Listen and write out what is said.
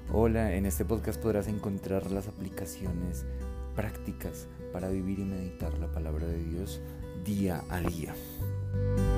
Hola, en este podcast podrás encontrar las aplicaciones prácticas para vivir y meditar la palabra de Dios día a día.